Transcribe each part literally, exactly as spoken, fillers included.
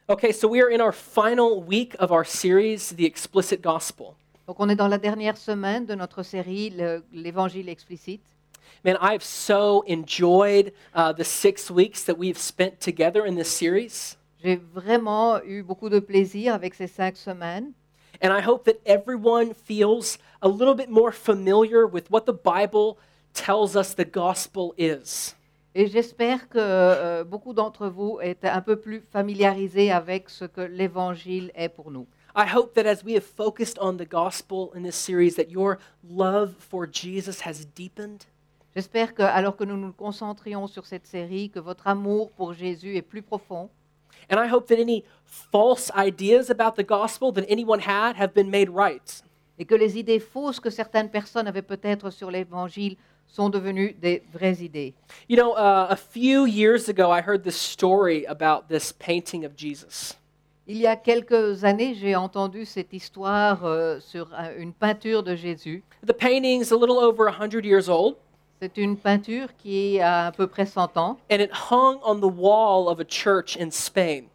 Okay, so we are in our final week of our series, The Explicit Gospel. Donc on est dans la dernière semaine de notre série le- l'Évangile explicite. Man, I have so enjoyed uh, the six weeks that we've spent together in this series. J'ai vraiment eu beaucoup de plaisir avec ces cinq semaines And I hope that everyone feels a little bit more familiar with what the Bible tells us the gospel is. et j'espère que euh, beaucoup d'entre vous êtes un peu plus familiarisés avec ce que l'Évangile est pour nous. I hope that as we have focused on the gospel in this series, that your love for Jesus has deepened. J'espère que, alors que nous nous concentrions sur cette série, que votre amour pour Jésus est plus profond And I hope that any false ideas about the gospel that anyone had have been made right. et que les idées fausses que certaines personnes avaient peut-être sur l'Évangile sont devenues des vraies idées. You know, uh, a few years ago, I heard this story about this painting of Jesus. Il y a quelques années, j'ai entendu cette histoire euh, sur un- une peinture de Jésus. The painting's a little over one hundred years old, C'est une peinture qui a à peu près cent ans and it hung on the wall of a church in Spain.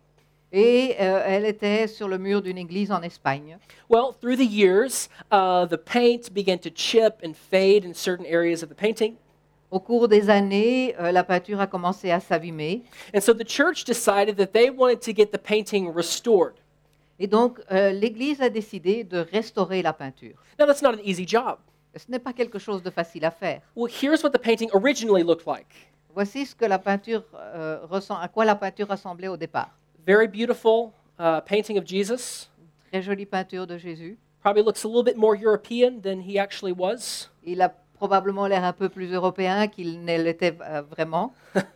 et euh, elle était sur le mur d'une église en Espagne. Well, through the years, uh, the paint began to chip and fade in certain areas of the painting. Au cours des années, euh, la peinture a commencé à s'abîmer And so the church decided that they wanted to get the painting restored. et donc euh, l'église a décidé de restaurer la peinture. Now, that's not an easy job. Ce n'est pas quelque chose de facile à faire. Well, here's what the painting originally looked like. Voici ce que la peinture euh, ressent- à quoi la peinture ressemblait au départ. Very beautiful uh, painting of Jesus. Très jolie peinture de Jésus. Probably looks a little bit more European than he actually was, Il a probablement l'air un peu plus européen qu'il ne l'était euh, vraiment,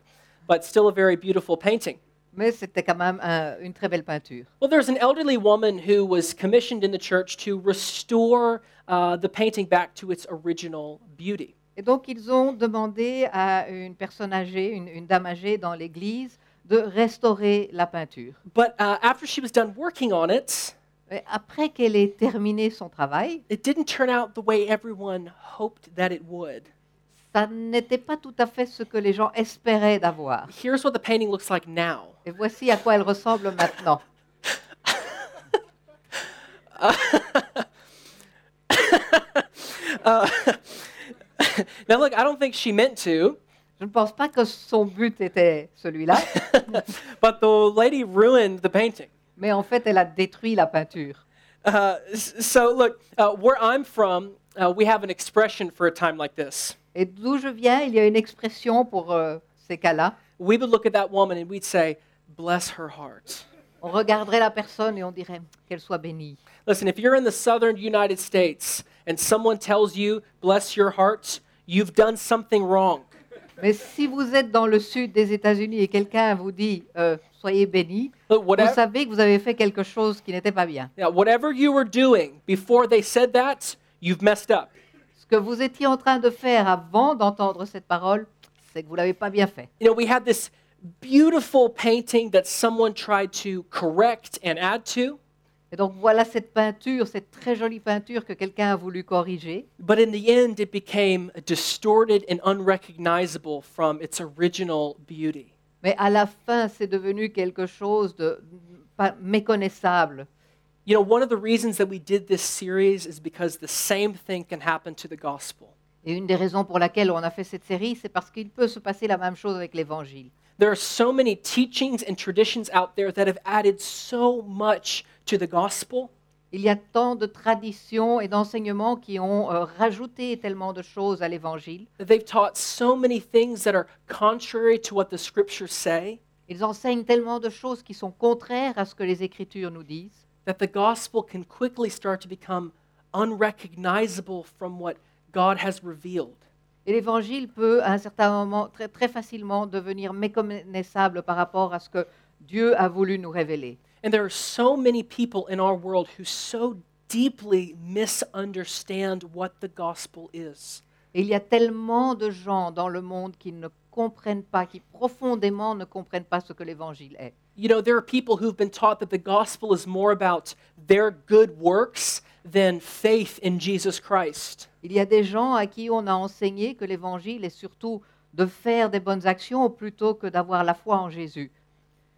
but still a very beautiful painting. mais c'était quand même un- une très belle peinture. Well, there's an elderly woman who was commissioned in the church to restore uh, the painting back to its original beauty. Et donc, ils ont demandé à une personne âgée, une, une dame âgée dans l'église, de restaurer la peinture. But uh, after she was done working on it, Et après qu'elle ait terminé son travail, it didn't turn out the way everyone hoped that it would. ça n'était pas tout à fait ce que les gens espéraient d'avoir. Here's what the painting looks like now. Et voici à quoi elle ressemble maintenant. Uh, now, look, I don't think she meant to, Je ne pense pas que son but était celui-là, but the lady ruined the painting. mais en fait, elle a détruit la peinture. Uh, s- so, look, uh, where I'm from, uh, we have an expression for a time like this. Et d'où je viens, il y a une expression pour euh, ces cas-là. We would look at that woman and we'd say, bless her heart. On regarderait la personne et on dirait qu'elle soit bénie. Listen, if you're in the southern United States and someone tells you, bless your heart, you've done something wrong. Mais si vous êtes dans le sud des États-Unis et quelqu'un vous dit euh, soyez bénis, Look, vous whatever, savez que vous avez fait quelque chose qui n'était pas bien. yeah, whatever you were doing before they said that, you've messed up. Ce que vous étiez en train de faire avant d'entendre cette parole, c'est que vous l'avez pas bien fait. You know, we had this beautiful painting that someone tried to correct and add to, Et donc voilà cette peinture, cette très jolie peinture que quelqu'un a voulu corriger. but in the end, it became distorted and unrecognizable from its original beauty. Mais à la fin, c'est devenu quelque chose de pas méconnaissable. You know, one of the reasons that we did this series is because the same thing can happen to the gospel. Et une des raisons pour laquelle on a fait cette série, c'est parce qu'il peut se passer la même chose avec l'Évangile. There are so many teachings and traditions out there that have added so much to the gospel. Il y a tant de traditions et d'enseignements qui ont euh, rajouté tellement de choses à l'Évangile. They've taught so many things that are contrary to what the scriptures say Ils enseignent tellement de choses qui sont contraires à ce que les Écritures nous disent, that the gospel can quickly start to become unrecognizable from what God has revealed. et l'Évangile peut à un certain moment très, très facilement devenir méconnaissable par rapport à ce que Dieu a voulu nous révéler. And there are so many people in our world who so deeply misunderstand what the gospel is. Et il y a tellement de gens dans le monde qui ne comprennent pas, qui profondément ne comprennent pas ce que l'Évangile est. You know, there are people who've been taught that the gospel is more about their good works than faith in Jesus Christ. Il y a des gens à qui on a enseigné que l'Évangile est surtout de faire des bonnes actions plutôt que d'avoir la foi en Jésus.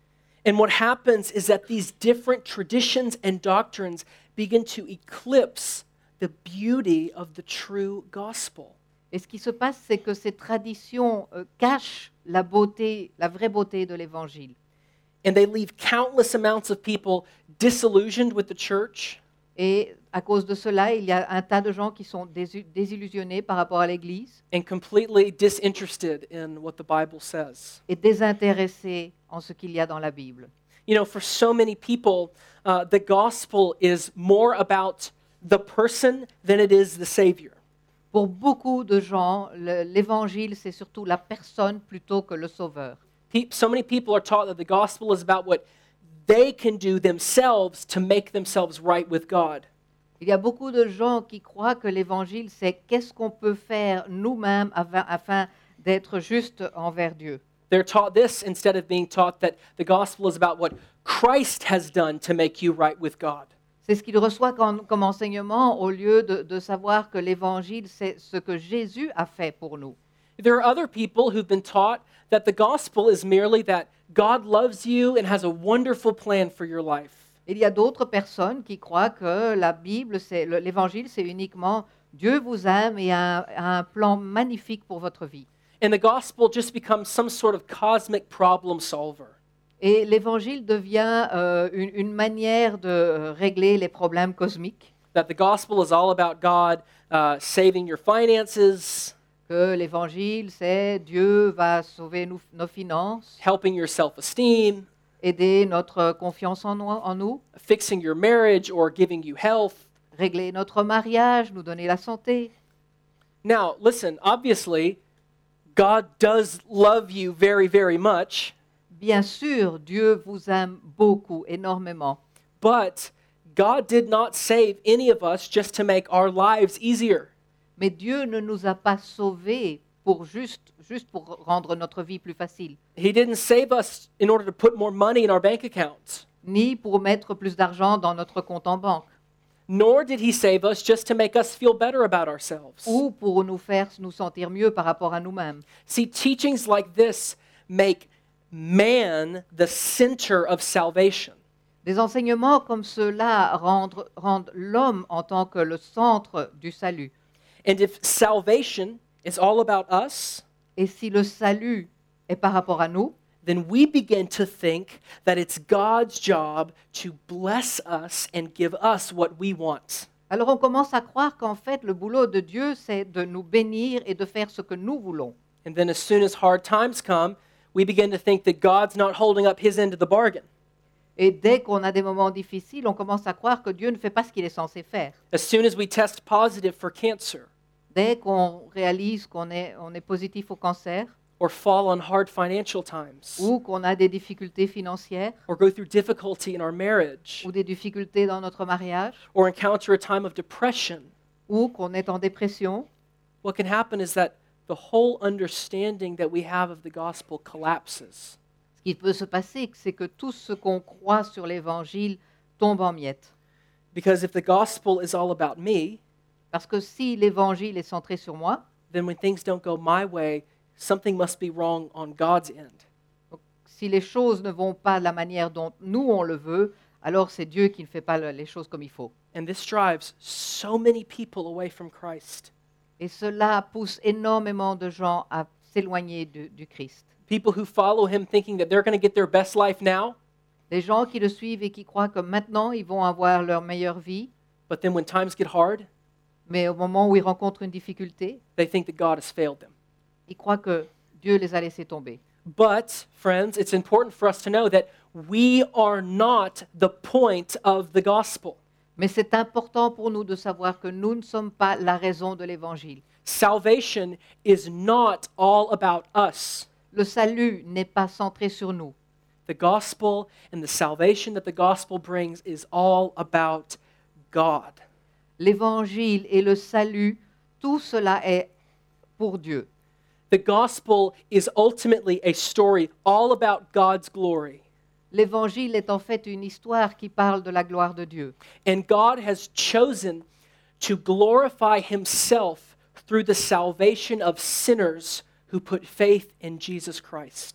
And what happens is that these different traditions and doctrines begin to eclipse the beauty of the true gospel. Et ce qui se passe, c'est que ces traditions euh, cachent la beauté, la vraie beauté de l'Évangile. And they leave countless amounts of people disillusioned with the church, Et à cause de cela, il y a un tas de gens qui sont désu- désillusionnés par rapport à l'Église and completely disinterested in what the Bible says. et désintéressés en ce qu'il y a dans la Bible. You know, for so many people, uh, the gospel is more about the person than it is the Savior. Pour beaucoup de gens, le- l'Évangile, c'est surtout la personne plutôt que le Sauveur. Pe- So many people are taught that the gospel is about what they can do themselves to make themselves right with God. Il y a beaucoup de gens qui croient que l'Évangile, c'est qu'est-ce qu'on peut faire nous-mêmes afin, afin d'être juste envers Dieu. They're taught this instead of being taught that the gospel is about what Christ has done to make you right with God. C'est ce qu'ils reçoivent comme, comme enseignement au lieu de, de savoir que l'Évangile, c'est ce que Jésus a fait pour nous. There are other people who've been taught that the gospel is merely that God loves you and has a wonderful plan for your life. Il y a d'autres personnes qui croient que la Bible, c'est le- l'Évangile, c'est uniquement Dieu vous aime et a un, a un plan magnifique pour votre vie. And the gospel just becomes some sort of cosmic problem solver. Et l'Évangile devient euh, une, une manière de euh, régler les problèmes cosmiques, That the gospel is all about God uh, saving your finances, que l'Évangile, c'est Dieu va sauver nous- nos finances, helping your self-esteem, aider notre confiance en nous, en nous, fixing your marriage, or giving you health. régler notre mariage, nous donner la santé. Now, listen, obviously, God does love you very, very much, Bien sûr, Dieu vous aime beaucoup, énormément. but God did not save any of us just to make our lives easier. Mais Dieu ne nous a pas sauvés pour juste, juste pour rendre notre vie plus facile, He didn't save us in order to put more money in our bank accounts, ni pour mettre plus d'argent dans notre compte en banque, nor did He save us just to make us feel better about ourselves. ou pour nous faire nous sentir mieux par rapport à nous-mêmes. See, teachings like this make man the center of salvation. Des enseignements comme ceux-là rendent, rendent l'homme en tant que le centre du salut. And if salvation is all about us, Et si le salut est par rapport à nous, then we begin to think that it's God's job to bless us and give us what we want. alors on commence à croire qu'en fait le boulot de Dieu, c'est de nous bénir et de faire ce que nous voulons. And then as soon as hard times come, we begin to think that God's not holding up his end of the bargain. Et dès qu'on a des moments difficiles, on commence à croire que Dieu ne fait pas ce qu'il est censé faire. As soon as we test positive for cancer Dès qu'on réalise qu'on est, on est positif au cancer, or fall on hard financial times ou qu'on a des difficultés financières, or go through difficulty in our marriage ou des difficultés dans notre mariage, or encounter a time of depression, ou qu'on est en dépression, what can happen is that the whole understanding that we have of the gospel collapses. ce qui peut se passer, c'est que tout ce qu'on croit sur l'Évangile tombe en miettes. Because if the gospel is all about me, Parce que si l'Évangile est centré sur moi, then when things don't go my way, something must be wrong on God's end. donc, si les choses ne vont pas de la manière dont nous on le veut, alors c'est Dieu qui ne fait pas le- les choses comme il faut. And this drives so many people away from Christ. Et cela pousse énormément de gens à s'éloigner du, du Christ. People who follow him thinking that they're going to get their best life now, Des gens qui le suivent et qui croient que maintenant ils vont avoir leur meilleure vie, but then when times get hard, mais au moment où ils rencontrent une difficulté, they think that God has failed them. ils croient que Dieu les a laissés tomber. But, friends, it's important for us to know that we are not the point of the gospel. Mais c'est important pour nous de savoir que nous ne sommes pas la raison de l'Évangile. Salvation is not all about us. Le salut n'est pas centré sur nous. The gospel and the salvation that the gospel brings is all about God. L'Évangile et le salut, tout cela est pour Dieu. The gospel is ultimately a story all about God's glory. L'Évangile est en fait une histoire qui parle de la gloire de Dieu. And God has chosen to glorify himself through the salvation of sinners who put faith in Jesus Christ.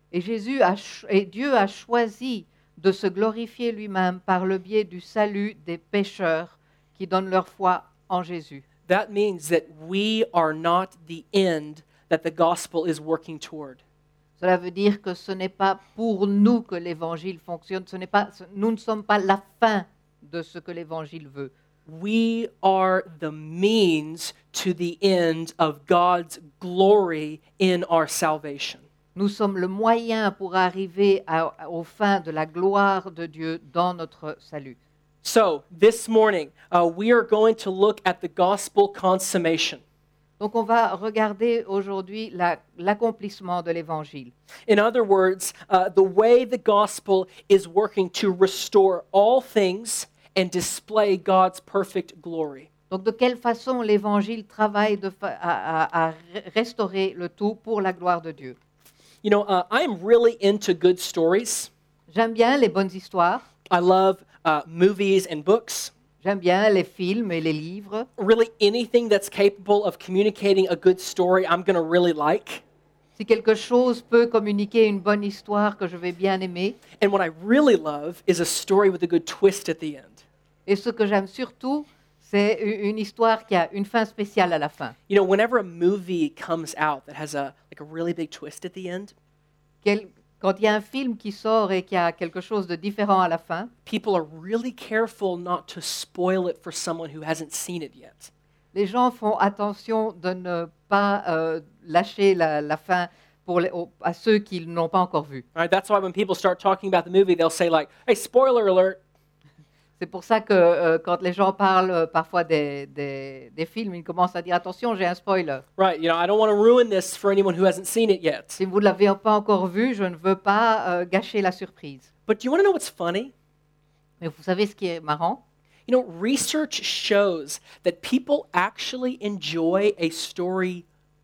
Et, Jésus a, ch- et Dieu a choisi de se glorifier lui-même par le biais du salut des pécheurs qui donnent leur foi en Jésus. That means that we are not the end that the gospel is working toward. Cela veut dire que ce n'est pas pour nous que l'Évangile fonctionne, ce n'est pas, ce- nous ne sommes pas la fin de ce que l'Évangile veut. We are the means to the end of God's glory in our salvation. Nous sommes le moyen pour arriver à- aux fins de la gloire de Dieu dans notre salut. So, this morning, uh, we are going to look at the gospel consummation. Donc on va regarder aujourd'hui la- l'accomplissement de l'Évangile. In other words, uh, the way the gospel is working to restore all things and display God's perfect glory. Donc de quelle façon l'Évangile travaille de fa- à, à- à restaurer le tout pour la gloire de Dieu. You know, uh, I am really into good stories. J'aime bien les bonnes histoires, I love uh, movies and books. j'aime bien les films et les livres. Really, anything that's capable of communicating a good story, I'm going to really like. Si quelque chose peut communiquer une bonne histoire que je vais bien aimer, And what I really love is a story with a good twist at the end. et ce que j'aime surtout, c'est u- une histoire qui a une fin spéciale à la fin. You know, whenever a movie comes out that has a like a really big twist at the end, Quel- quand il y a un film qui sort et qui a quelque chose de différent à la fin, people are really careful not to spoil it for someone who hasn't seen it yet. les gens font attention de ne pas euh, lâcher la, la fin pour les- aux- à ceux qui ne l'ont pas encore vu. All right, that's why when people start talking about the movie, they'll say like, "Hey, spoiler alert." C'est pour ça que euh, quand les gens parlent euh, parfois des, des- des films, ils commencent à dire attention, j'ai un spoiler. Right, you know, I don't want to ruin this for anyone who hasn't seen it yet. Si vous ne l'avez pas encore vu, je ne veux pas euh, gâcher la surprise. But do you want to know what's funny? Mais vous savez ce qui est marrant? You know, research shows that people actually enjoy a story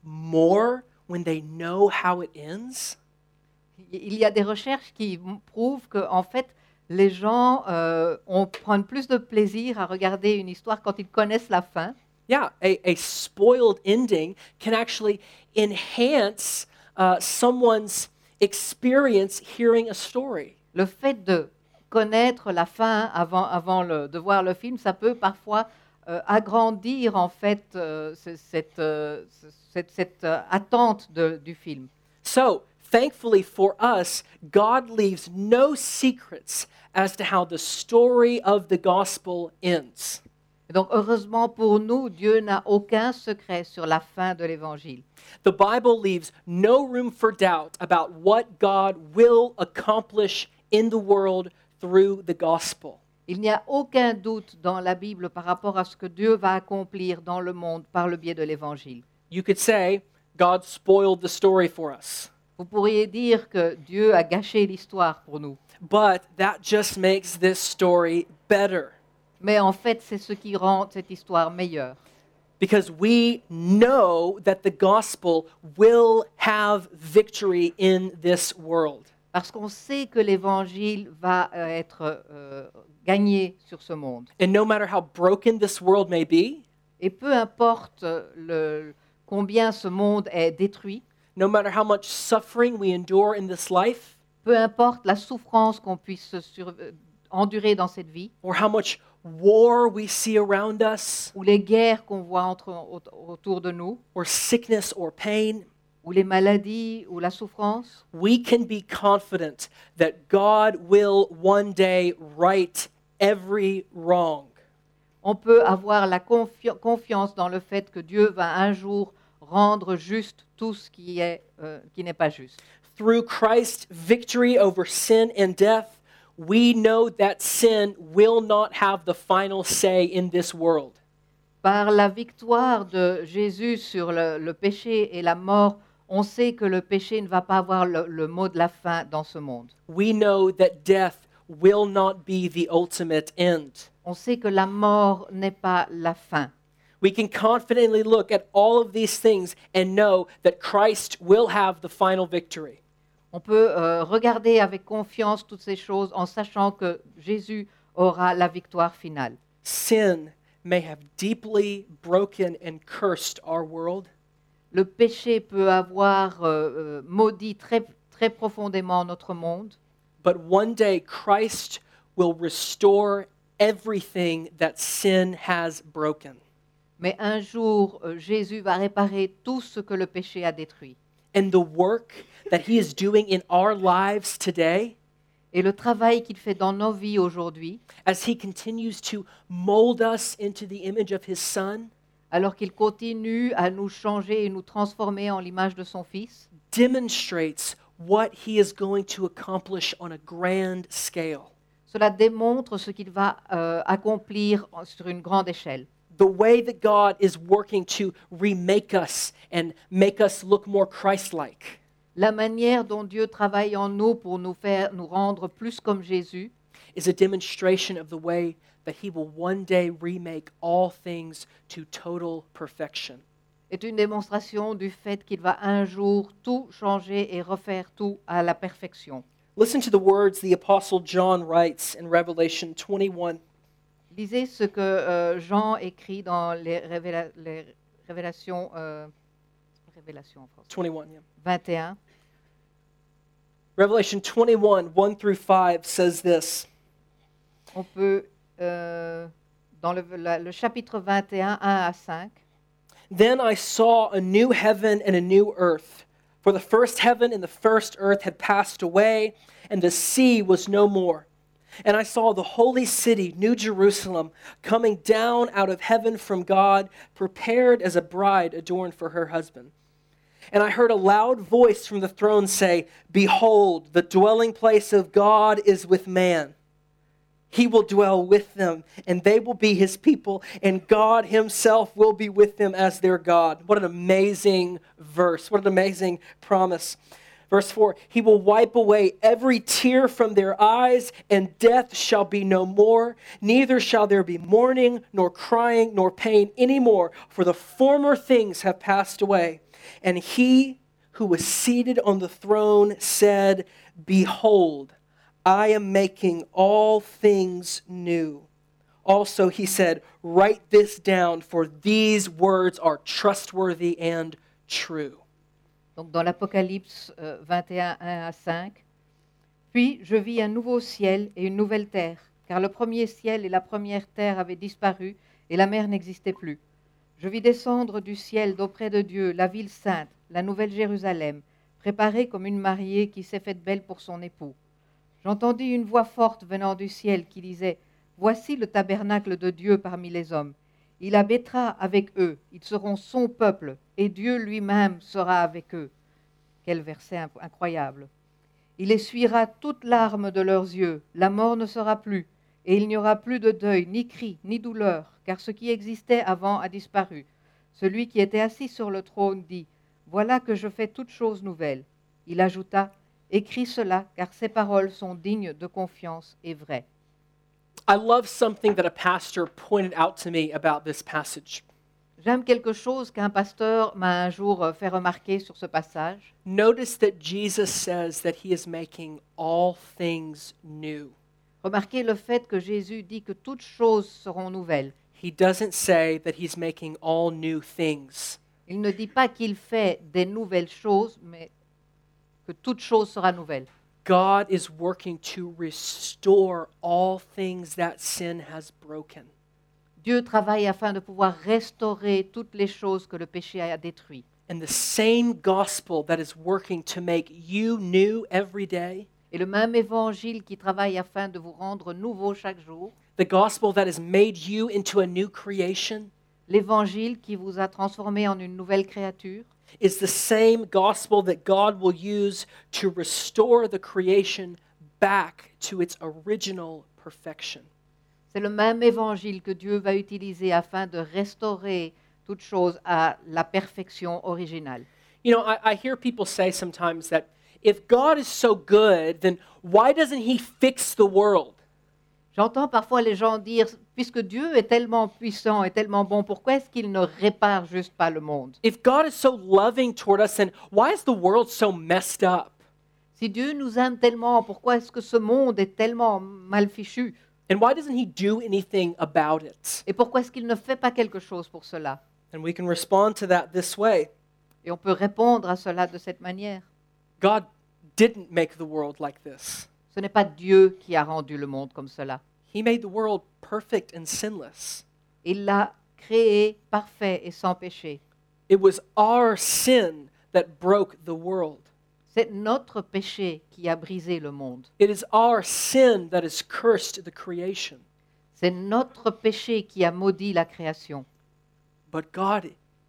more when they know how it ends. Il y a des recherches qui m- prouvent que en fait, les gens euh, on prennent plus de plaisir à regarder une histoire quand ils connaissent la fin. Yeah, a, a spoiled ending can actually enhance uh, someone's experience hearing a story. Le fait de connaître la fin avant, avant le- de voir le film, ça peut parfois euh, agrandir en fait euh, ce- cette, euh, ce- cette, cette, euh, attente de- du film. So, thankfully for us, God leaves no secrets as to how the story of the gospel ends. Et donc heureusement pour nous, Dieu n'a aucun secret sur la fin de l'Évangile. The Bible leaves no room for doubt about what God will accomplish in the world through the gospel. Il n'y a aucun doute dans la Bible par rapport à ce que Dieu va accomplir dans le monde par le biais de l'Évangile. You could say, God spoiled the story for us. Vous pourriez dire que Dieu a gâché l'histoire pour nous. But that just makes this story better Mais en fait, c'est ce qui rend cette histoire meilleure. because we know that the gospel will have victory in this world. Parce qu'on sait que l'Évangile va euh, être euh, gagné sur ce monde. And no matter how broken this world may be, Et peu importe euh, le, combien ce monde est détruit, no matter how much suffering we endure in this life, peu importe la souffrance qu'on puisse sur- euh, endurer dans cette vie, or how much war we see around us, ou les guerres qu'on voit entre, au- autour de nous, or sickness or pain, ou les maladies, ou la souffrance, we can be confident that God will one day right every wrong. on peut avoir la confi- confiance dans le fait que Dieu va un jour rendre juste tout ce qui est, euh, qui n'est pas juste. Through Christ's victory over sin and death, we know that sin will not have the final say in this world. Par la victoire de Jésus sur le, le péché et la mort, on sait que le péché ne va pas avoir le, le mot de la fin dans ce monde. We know that death will not be the ultimate end. On sait que la mort n'est pas la fin. We can confidently look at all of these things and know that Christ will have the final victory. On peut euh, regarder avec confiance toutes ces choses en sachant que Jésus aura la victoire finale. Sin may have deeply broken and cursed our world, Le péché peut avoir euh, euh, maudit très, très profondément notre monde. But one day Christ will restore everything that sin has broken. Mais un jour, euh, Jésus va réparer tout ce que le péché a détruit. And the work that he is doing in our lives today, Et le travail qu'il fait dans nos vies aujourd'hui, as he continues to mold us into the image of his Son, alors qu'il continue à nous changer et nous transformer en l'image de son Fils, demonstrates what he is going to accomplish on a grand scale. cela démontre ce qu'il va euh, accomplir en- sur une grande échelle. The way that God is working to remake us and make us look more Christ-like La manière dont Dieu travaille en nous pour nous faire nous rendre plus comme Jésus is a demonstration of the way that he will one day remake all things to total perfection. est une démonstration du fait qu'il va un jour tout changer et refaire tout à la perfection. Listen to the words the Apostle John writes in Revelation twenty-one. Lisez ce que euh, Jean écrit dans les, révéla- les révélations, euh, révélations en français, twenty-one, yeah. vingt et un. Revelation twenty-one, one through five says this. On peut, euh, dans le, la- le chapitre vingt et un, un à cinq, Then I saw a new heaven and a new earth, for the first heaven and the first earth had passed away, and the sea was no more. And I saw the holy city, New Jerusalem, coming down out of heaven from God, prepared as a bride adorned for her husband. And I heard a loud voice from the throne say, "Behold, the dwelling place of God is with man. He will dwell with them, and they will be his people, and God himself will be with them as their God." What an amazing verse. What an amazing promise. Verse four, he will wipe away every tear from their eyes, and death shall be no more. Neither shall there be mourning, nor crying, nor pain any more, for the former things have passed away. And he who was seated on the throne said, "Behold, I am making all things new." Also, he said, "Write this down, for these words are trustworthy and true." donc dans l'Apocalypse euh, vingt et un, un à cinq. Puis je vis un nouveau ciel et une nouvelle terre, car le premier ciel et la première terre avaient disparu, et la mer n'existait plus. Je vis descendre du ciel d'auprès de Dieu la ville sainte, la nouvelle Jérusalem, préparée comme une mariée qui s'est faite belle pour son époux. J'entendis une voix forte venant du ciel qui disait, « Voici le tabernacle de Dieu parmi les hommes. Il habitera avec eux, ils seront son peuple, et Dieu lui-même sera avec eux. » Quel verset inc- incroyable. Il essuiera toute larme de leurs yeux, la mort ne sera plus, et il n'y aura plus de deuil, ni cri, ni douleur, car ce qui existait avant a disparu. Celui qui était assis sur le trône dit, « Voilà que je fais toutes choses nouvelles. » Il ajouta, « Écris cela, car ces paroles sont dignes de confiance et vraies. » I love something that a pastor pointed out to me about this passage. J'aime quelque chose qu'un pasteur m'a un jour euh, fait remarquer sur ce passage. Notice that Jesus says that he is making all things new. Remarquez le fait que Jésus dit que toutes choses seront nouvelles. He doesn't say that he's making all new things. Il ne dit pas qu'il fait des nouvelles choses, mais que toute chose sera nouvelle. God is working to restore all things that sin has broken. Dieu travaille afin de pouvoir restaurer toutes les choses que le péché a détruites. And the same gospel that is working to make you new every day, Et le même évangile qui travaille afin de vous rendre nouveau chaque jour, the gospel that has made you into a new creation, l'évangile qui vous a transformé en une nouvelle créature, is the same gospel that God will use to restore the creation back to its original perfection. c'est le même évangile que Dieu va utiliser afin de restaurer toute chose à la perfection originale. You know, I, I hear people say sometimes that if God is so good, then why doesn't he fix the world? J'entends parfois les gens dire, puisque Dieu est tellement puissant et tellement bon, pourquoi est-ce qu'il ne répare juste pas le monde? If God is so loving toward us, then why is the world so messed up? Si Dieu nous aime tellement, pourquoi est-ce que ce monde est tellement mal fichu? And why doesn't he do anything about it? Et pourquoi est-ce qu'il ne fait pas quelque chose pour cela? And we can respond to that this way. Et on peut répondre à cela de cette manière. God didn't make the world like this. Ce n'est pas Dieu qui a rendu le monde comme cela. He made the world perfect and sinless. Il l'a créé parfait et sans péché. It was our sin that broke the world. C'est notre péché qui a brisé le monde. It is our sin that has cursed the creation. C'est notre péché qui a maudit la création. But God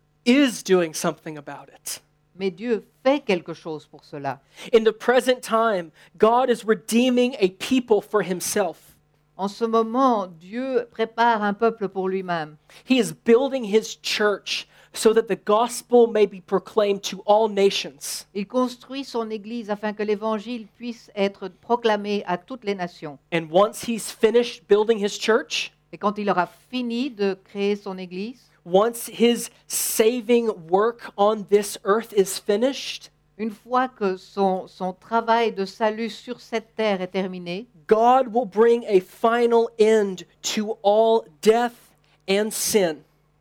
is doing something about it. Mais Dieu fait quelque chose pour cela. In the present time, God is redeeming a people for himself. En ce moment, Dieu prépare un peuple pour lui-même. He is building his church so that the gospel may be proclaimed to all nations. Il construit son Église afin que l'Évangile puisse être proclamé à toutes les nations. And once he's finished building his church, Et quand il aura fini de créer son Église, once his saving work on this earth is finished, une fois que son, son travail de salut sur cette terre est terminé, God will bring a final end to all death and sin.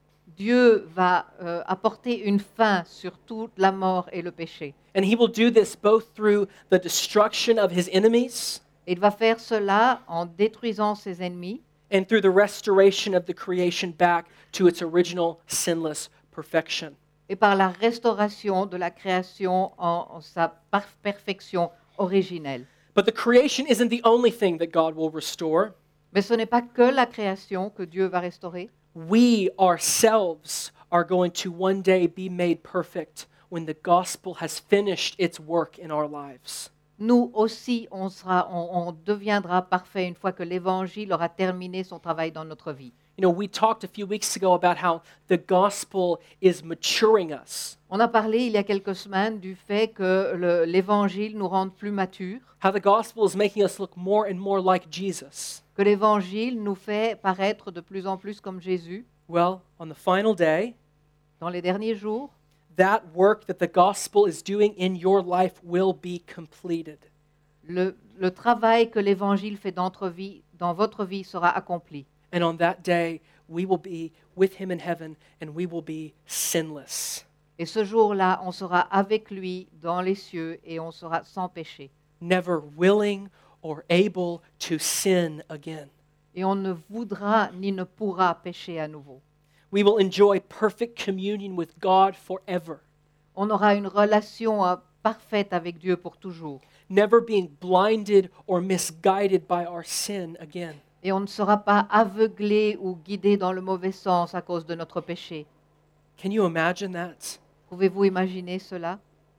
Dieu va euh, apporter une fin sur toute la mort et le péché. And he will do this both through the destruction of his enemies Il va faire cela en détruisant ses ennemis and through the restoration of the creation back to its original sinless perfection. et par la restauration de la création en, en sa par- perfection originelle. But the creation isn't the only thing that God will restore. Mais ce n'est pas que la création que Dieu va restaurer. We ourselves are going to one day be made perfect when the gospel has finished its work in our lives. Nous aussi, on, sera, on, on deviendra parfait une fois que l'Évangile aura terminé son travail dans notre vie. You know, we talked a few weeks ago about how the gospel is maturing us, On a parlé il y a quelques semaines du fait que le- l'Évangile nous rende plus matures, how the gospel is making us look more and more like Jesus. que l'Évangile nous fait paraître de plus en plus comme Jésus. Well, on the final day, Dans les derniers jours, that work that the gospel is doing in your life will be completed. le, le travail que l'Évangile fait dans votre vie, dans votre vie sera accompli. And on that day, we will be with him in heaven and we will be sinless, Et ce jour-là, on sera avec lui dans les cieux et on sera sans péché. never willing or able to sin again. Et on ne voudra ni ne pourra pécher à nouveau. We will enjoy perfect communion with God forever, On aura une relation euh, parfaite avec Dieu pour toujours. never being blinded or misguided by our sin again. Et on ne sera pas aveuglé ou guidé dans le mauvais sens à cause de notre péché. Can you imagine that? Pouvez-vous imaginer cela?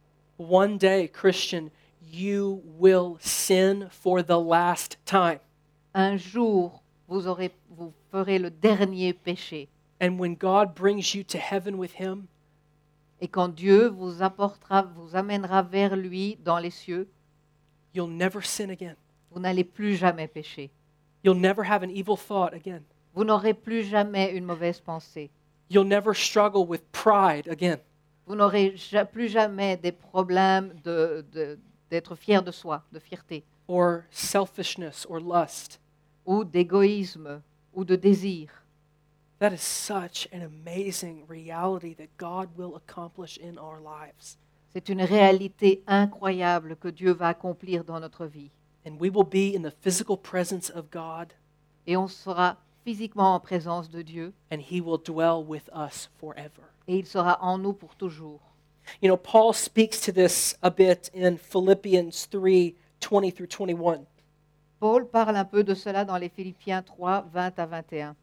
One day, Christian, you will sin for the last time. Un jour, vous, aurez, vous ferez le dernier péché. And when God brings you to heaven with him, Et quand Dieu vous apportera, vous amènera vers lui dans les cieux, you'll never sin again. vous n'allez plus jamais pécher. You'll never have an evil thought again. Vous n'aurez plus jamais une mauvaise pensée. You'll never struggle with pride again. Vous n'aurez ja- plus jamais des problèmes de- de- d'être fier de soi, de fierté, Or selfishness or lust. ou d'égoïsme, ou de désir. That is such an amazing reality that God will accomplish in our lives. C'est une réalité incroyable que Dieu va accomplir dans notre vie. And we will be in the physical presence of God, Et on sera physiquement en présence de Dieu, and he will dwell with us forever. et il sera en nous pour toujours. You know, Paul speaks to this a bit in Philippians three twenty through twenty-one. Paul parle un peu de cela dans les Philippiens trois, vingt à vingt et un.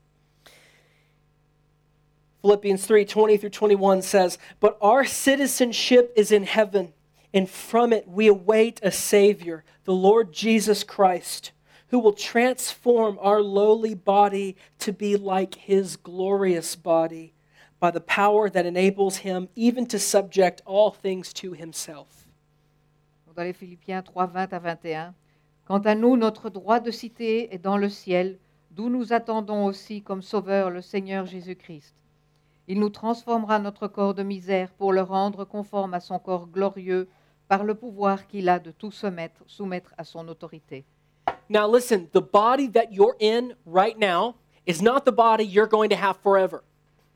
Philippians three twenty through twenty-one says, "But our citizenship is in heaven, and from it we await a Savior, the Lord Jesus Christ, who will transform our lowly body to be like his glorious body, by the power that enables him even to subject all things to himself." Dans les Philippiens trois, vingt à vingt et un. Quant à nous, notre droit de cité est dans le ciel, d'où nous attendons aussi comme sauveur le Seigneur Jésus-Christ. Il nous transformera notre corps de misère pour le rendre conforme à son corps glorieux par le pouvoir qu'il a de tout soumettre, soumettre à son autorité. Now listen, the body that you're in right now is not the body you're going to have forever.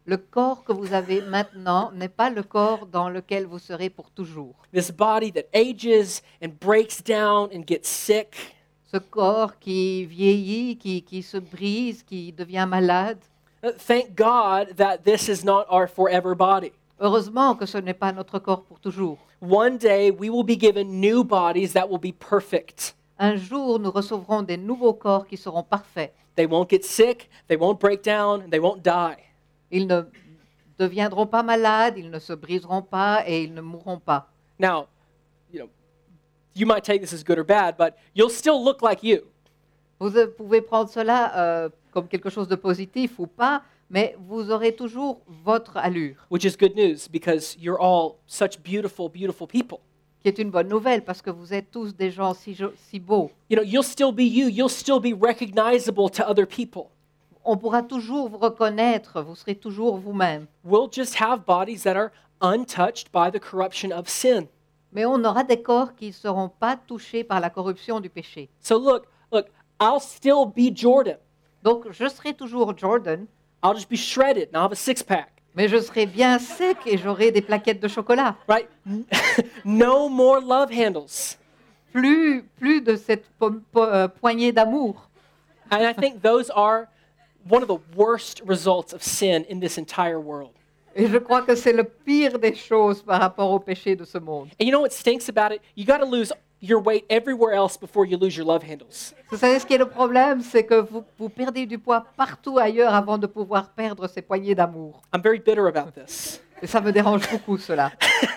Le corps que vous avez maintenant n'est pas le corps dans lequel vous serez pour toujours. This body that ages and breaks down and gets sick. Ce corps qui vieillit, qui, qui se brise, qui devient malade. Uh, Thank God that this is not our forever body. Heureusement que ce n'est pas notre corps pour toujours. One day we will be given new bodies that will be perfect. Un jour, nous recevrons des nouveaux corps qui seront parfaits. They won't get sick, they won't break down, and they won't die. Ils ne deviendront pas malades, ils ne se briseront pas et ils ne mourront pas. Now, you know, you might take this as good or bad, but you'll still look like you. Vous euh, pouvez prendre cela euh, comme quelque chose de positif ou pas, mais vous aurez toujours votre allure, Which is good news because you're all such beautiful, beautiful people. qui est une bonne nouvelle parce que vous êtes tous des gens si, jo- si beaux. You know, you'll still be you, you'll still be recognizable to other people. On pourra toujours vous reconnaître, vous serez toujours vous-même. We'll just have bodies that are untouched by the corruption of sin. Mais on aura des corps qui ne seront pas touchés par la corruption du péché. So look, look, I'll still be Jordan. Donc, je serai toujours Jordan, I'll just be shredded and I'll have a six pack, mais je serai bien sec et j'aurai des plaquettes de chocolat. right? No more love handles. Plus, plus de cette po- po- euh, poignée d'amour. And I think those are one of the worst results of sin in this entire world. Et je crois que c'est le pire des choses par rapport au péché de ce monde. And you know what stinks about it? You got to lose your weight everywhere else before you lose your love handles. Vous savez ce qui est le problème, c'est que vous, vous perdez du poids partout ailleurs avant de pouvoir perdre ces poignées d'amour. I'm very bitter about this. Et ça me dérange beaucoup, cela.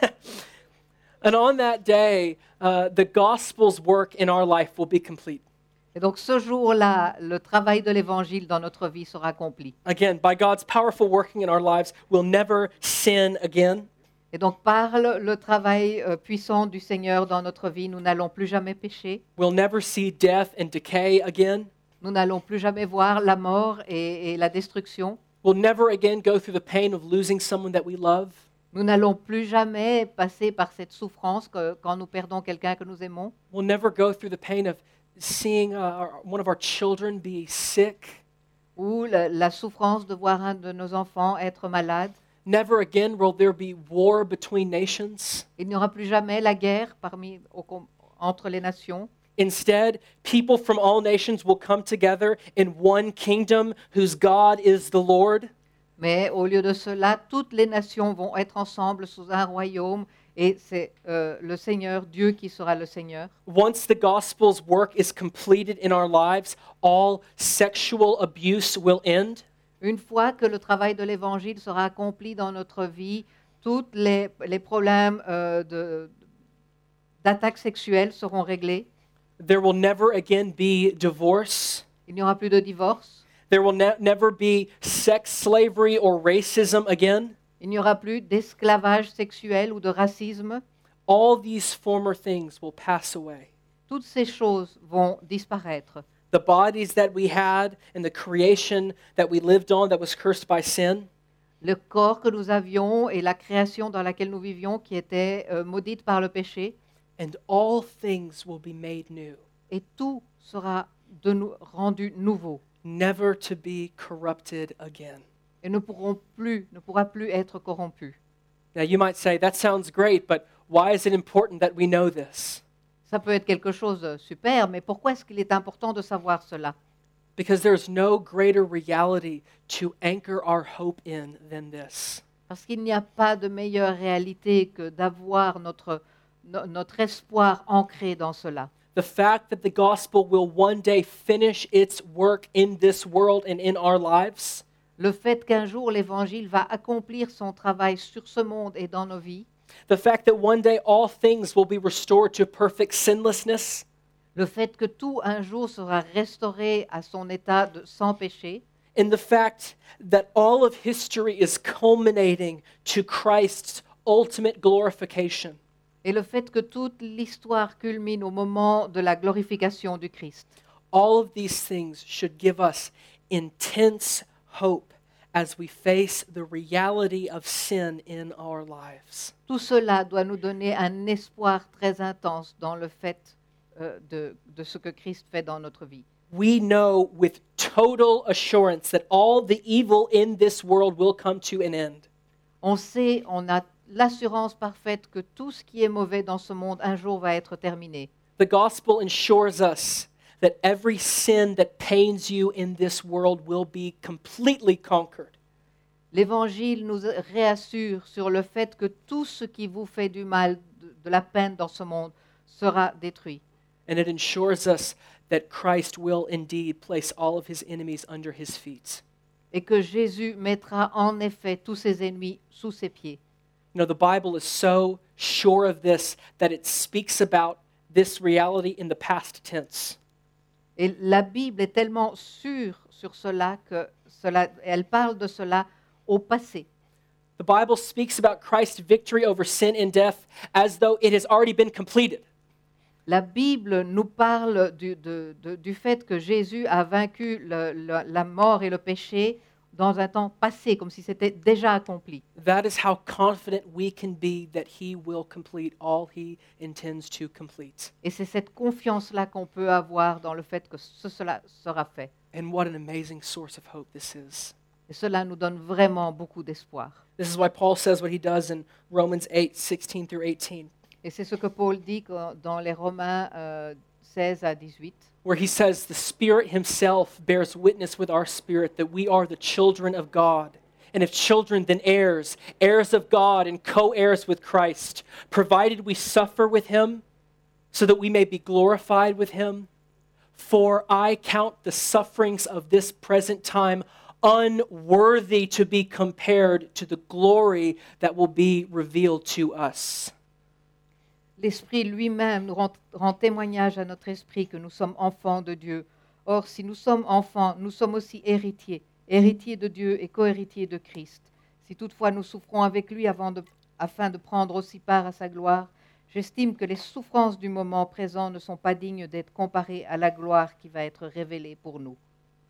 And on that day, uh, the gospel's work in our life will be complete. Et donc ce jour-là, le travail de l'Évangile dans notre vie sera accompli. Again, by God's powerful working in our lives, we'll never sin again. Et donc par le, le travail euh, puissant du Seigneur dans notre vie, nous n'allons plus jamais pécher. We'll never see death and decay again. Nous n'allons plus jamais voir la mort et, et la destruction. We'll never again go through the pain of losing someone that we love. Nous n'allons plus jamais passer par cette souffrance que, quand nous perdons quelqu'un que nous aimons. We'll never go through the pain of seeing uh, our, one of our children be sick. Ou la, la souffrance de voir un de nos enfants être malade. Never again will there be war between nations. Il n'y aura plus jamais la guerre parmi, au com- entre les nations. Instead, people from all nations will come together in one kingdom whose God is the Lord. Mais au lieu de cela, toutes les nations vont être ensemble sous un royaume et c'est euh, le Seigneur, Dieu qui sera le Seigneur. Once the gospel's work is completed in our lives, all sexual abuse will end. Une fois que le travail de l'Évangile sera accompli dans notre vie, tous les, les problèmes euh, de- d'attaques sexuelles seront réglés. There will never again be divorce. Il n'y aura plus de divorce. There will ne- never be sex slavery or racism again. Il n'y aura plus d'esclavage sexuel ou de racisme. All these former things will pass away. Toutes ces choses vont disparaître. The bodies that we had and the creation that we lived on that was cursed by sin, Le corps que nous avions et la création dans laquelle nous vivions qui était euh, maudite par le péché, and all things will be made new, et tout sera de nou- rendu nouveau never to be corrupted again. et ne pourront plus, ne pourra plus être corrompu. Now you might say, that sounds great, but why is it important that we know this? Ça peut être quelque chose de super, mais pourquoi est-ce qu'il est important de savoir cela? Because there's no greater reality to anchor our hope in than this. Parce qu'il n'y a pas de meilleure réalité que d'avoir notre, no- notre espoir ancré dans cela. The fact that the gospel will one day finish its work in this world and in our lives, Le fait qu'un jour l'Évangile va accomplir son travail sur ce monde et dans nos vies, the fact that one day all things will be restored to perfect sinlessness, le fait que tout un jour sera restauré à son état de sans péché, and the fact that all of history is culminating to Christ's ultimate glorification. et le fait que toute l'histoire culmine au moment de la glorification du Christ. All of these things should give us intense hope as we face the reality of sin in our lives. Tout cela doit nous donner un espoir très intense dans le fait euh, de, de ce que Christ fait dans notre vie. we know with total assurance that all the evil in this world will come to an end. On sait, on a l'assurance parfaite que tout ce qui est mauvais dans ce monde un jour va être terminé. The gospel ensures us that every sin that pains you in this world will be completely conquered. L'Évangile nous réassure sur le fait que tout ce qui vous fait du mal, de, de la peine dans ce monde, sera détruit. And it ensures us that Christ will indeed place all of his enemies under his feet. Et que Jésus mettra en effet tous ses ennemis sous ses pieds. You know, the Bible is so sure of this that it speaks about this reality in the past tense. Et la Bible est tellement sûre sur cela que cela, elle parle de cela au passé. The Bible speaks about Christ's victory over sin and death as though it has already been completed. La Bible nous parle du, de- de- du fait que Jésus a vaincu le- le- la mort et le péché dans un temps passé, comme si c'était déjà accompli. That is how confident we can be that he will complete all he intends to complete. Et c'est cette confiance-là qu'on peut avoir dans le fait que ce- cela sera fait. And what an amazing source of hope this is. Et cela nous donne vraiment beaucoup d'espoir. This is why Paul says what he does in Romans eight, sixteen through eighteen, Et c'est ce que Paul dit quand- dans les Romains euh, seize à dix-huit, where he says, "The Spirit himself bears witness with our spirit that we are the children of God. And if children, then heirs, heirs of God and co-heirs with Christ, provided we suffer with him, so that we may be glorified with him. For I count the sufferings of this present time unworthy to be compared to the glory that will be revealed to us." L'Esprit lui-même nous rend, rend témoignage à notre esprit que nous sommes enfants de Dieu. Or, si nous sommes enfants, nous sommes aussi héritiers, héritiers de Dieu et co-héritiers de Christ. Si toutefois nous souffrons avec lui avant de- afin de prendre aussi part à sa gloire, j'estime que les souffrances du moment présent ne sont pas dignes d'être comparées à la gloire qui va être révélée pour nous.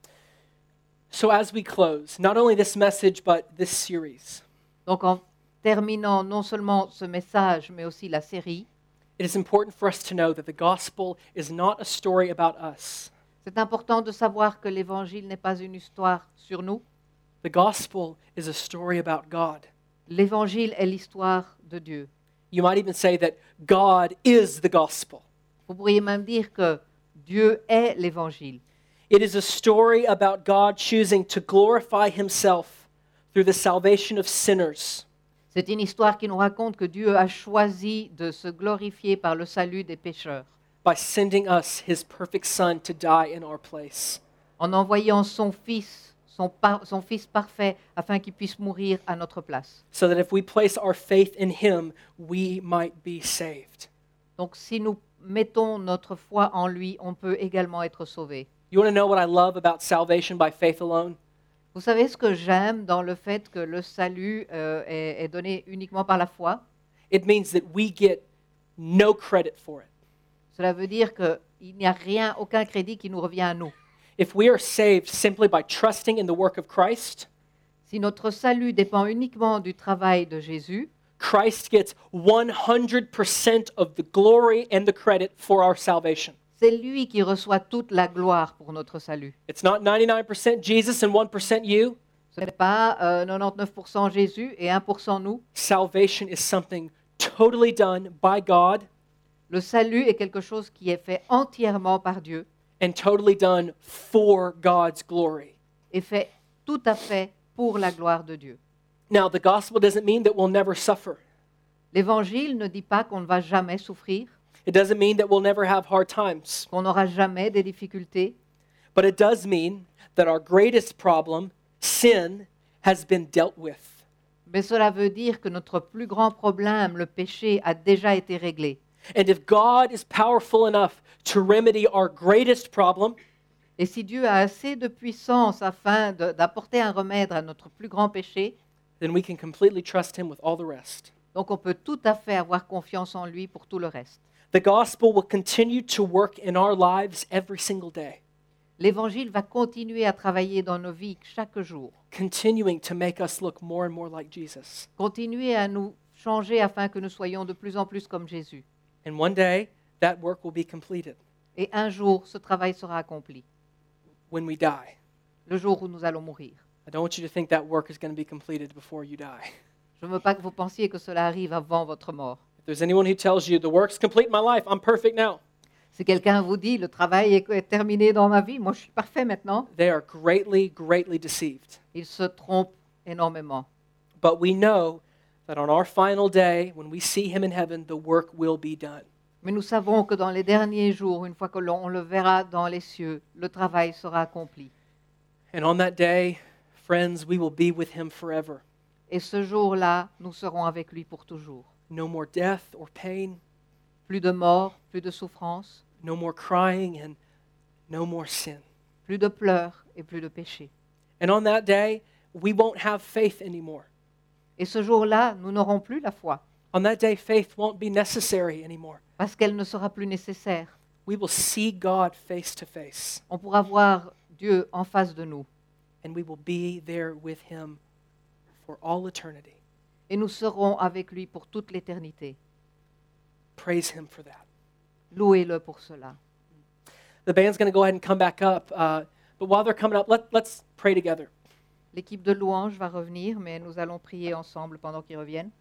So as we close, not only this message, but this series, Donc, en terminant non seulement ce message, mais aussi la série, it is important for us to know that the gospel is not a story about us. c'est important de savoir que l'Évangile n'est pas une histoire sur nous. The gospel is a story about God. L'Évangile est l'histoire de Dieu. You might even say that God is the gospel. Vous pourriez même dire que Dieu est l'Évangile. It is a story about God choosing to glorify himself through the salvation of sinners. C'est une histoire qui nous raconte que Dieu a choisi de se glorifier par le salut des pécheurs, By sending us his perfect son to die in our place. en envoyant son Fils, son, par- son Fils parfait, afin qu'il puisse mourir à notre place. So that if we place our faith in him, we might be saved. Donc si nous mettons notre foi en lui, on peut également être sauvés. You want to know what I love about salvation by faith alone? Vous savez ce que j'aime dans le fait que le salut euh, est, est donné uniquement par la foi? It means that we get no credit for it. Cela veut dire qu'il n'y a rien, aucun crédit qui nous revient à nous. If we are saved simply by trusting in the work of Christ, Si notre salut dépend uniquement du travail de Jésus, Christ gets one hundred percent of the glory and the credit for our salvation. c'est lui qui reçoit toute la gloire pour notre salut. It's not ninety-nine percent Jesus and one percent you. Ce n'est pas euh, quatre-vingt-dix-neuf pour cent Jésus et un pour cent nous. Salvation is something totally done by God Le salut est quelque chose qui est fait entièrement par Dieu and totally done for God's glory. et fait tout à fait pour la gloire de Dieu. Now, the gospel doesn't mean that we'll never suffer. L'Évangile ne dit pas qu'on ne va jamais souffrir, It doesn't mean that we'll never have hard times. qu'on n'aura jamais des difficultés, But it does mean that our greatest problem, sin, has been dealt with. mais cela veut dire que notre plus grand problème, le péché, a déjà été réglé. And if God is powerful enough to remedy our greatest problem, Et si Dieu a assez de puissance afin de- d'apporter un remède à notre plus grand péché, then we can completely trust him with all the rest. donc on peut tout à fait avoir confiance en lui pour tout le reste. The gospel will continue to work in our lives every single day, L'Évangile va continuer à travailler dans nos vies chaque jour, continuing to make us look more and more like Jesus. continuer à nous changer afin que nous soyons de plus en plus comme Jésus. And one day, that work will be completed. Et un jour, ce travail sera accompli. when we die. le jour où nous allons mourir. I don't want you to think that work is going to be completed before you die. Je ne veux pas que vous pensiez que cela arrive avant votre mort. If there's anyone who tells you, the work's complete in my life, I'm perfect now, Si quelqu'un vous dit, le travail est, est terminé dans ma vie, moi je suis parfait maintenant, they are greatly, greatly deceived. il se trompe énormément. But we know that on our final day, when we see him in heaven, the work will be done. Mais nous savons que dans les derniers jours, une fois que l'on on le verra dans les cieux, le travail sera accompli. And on that day, friends, we will be with him forever. Et ce jour-là, nous serons avec lui pour toujours. No more death or pain, Plus de mort, plus de souffrance, no more crying, and no more sin. plus de pleurs et plus de péché. And on that day, we won't have faith anymore. Et ce jour-là, nous n'aurons plus la foi, On that day, faith won't be necessary anymore. parce qu'elle ne sera plus nécessaire. We will see God face to face, On pourra voir Dieu en face de nous. and we will be there with him for all eternity. Et nous serons avec lui pour toute l'éternité. Praise him for that. Louez-le pour cela. The band's going to go ahead and come back up, uh, but while they're coming up, let, let's pray together. L'équipe de louange va revenir, mais nous allons prier ensemble pendant qu'ils reviennent.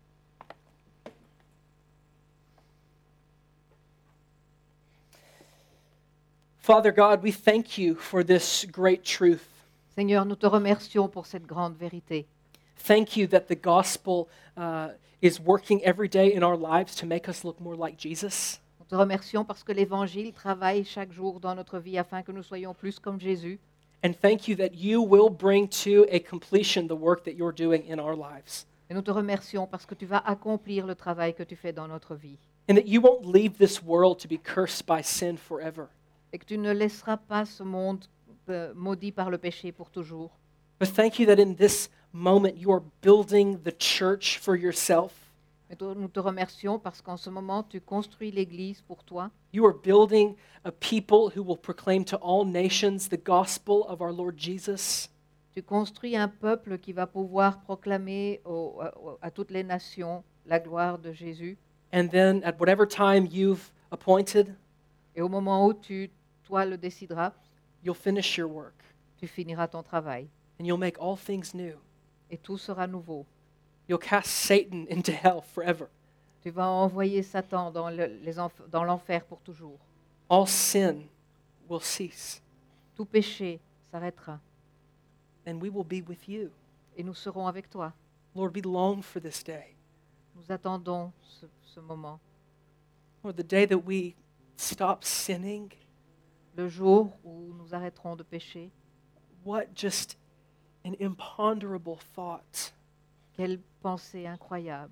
Father God, we thank you for this great truth. Seigneur, nous te remercions pour cette grande vérité. Thank you that the gospel uh, is working every day in our lives to make us look more like Jesus. Nous te remercions parce que l'Évangile travaille chaque jour dans notre vie afin que nous soyons plus comme Jésus. And thank you that you will bring to a completion the work that you're doing in our lives. Et nous te remercions parce que tu vas accomplir le travail que tu fais dans notre vie. And that you won't leave this world to be cursed by sin forever. Et que tu ne laisseras pas ce monde euh, maudit par le péché pour toujours. But thank you that in this moment you are building the church for yourself. Et te- nous te remercions parce qu'en ce moment, tu construis l'Église pour toi. You are building a people who will proclaim to all nations the gospel of our Lord Jesus. Tu construis un peuple qui va pouvoir proclamer au- à, à toutes les nations la gloire de Jésus. And then at whatever time you've appointed, Et au moment où tu, toi, le décideras, you'll finish your work tu finiras ton travail. and you'll make all things new. Et tout sera nouveau. You'll cast Satan into hell forever. Tu vas envoyer Satan dans le- les enf- dans l'enfer pour toujours. All sin will cease Tout péché s'arrêtera. and we will be with you. Et nous serons avec toi. Lord, we long for this day. Nous attendons ce, ce moment. Lord, the day that we stop sinning, Le jour où nous arrêterons de pécher. what just an imponderable thought. Quelle pensée incroyable.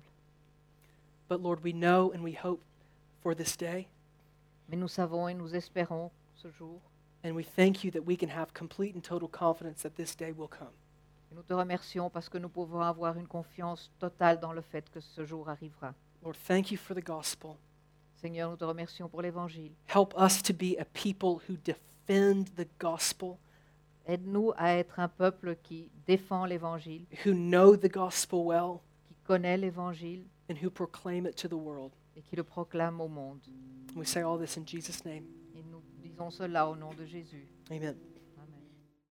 But Lord, we know and we hope for this day, Mais nous savons et nous espérons ce jour. and we thank you that we can have complete and total confidence that this day will come. Et nous te remercions parce que nous pouvons avoir une confiance totale dans le fait que ce jour arrivera. Lord, thank you for the gospel. Seigneur, nous te remercions pour l'Évangile. Help us to be a people who defend the gospel, Aide-nous à être un peuple qui défend l'Évangile, who know the gospel well, qui connaît l'Évangile and who proclaim it to the world. et qui le proclame au monde. We say all this in Jesus' name. Et nous disons cela au nom de Jésus. Amen.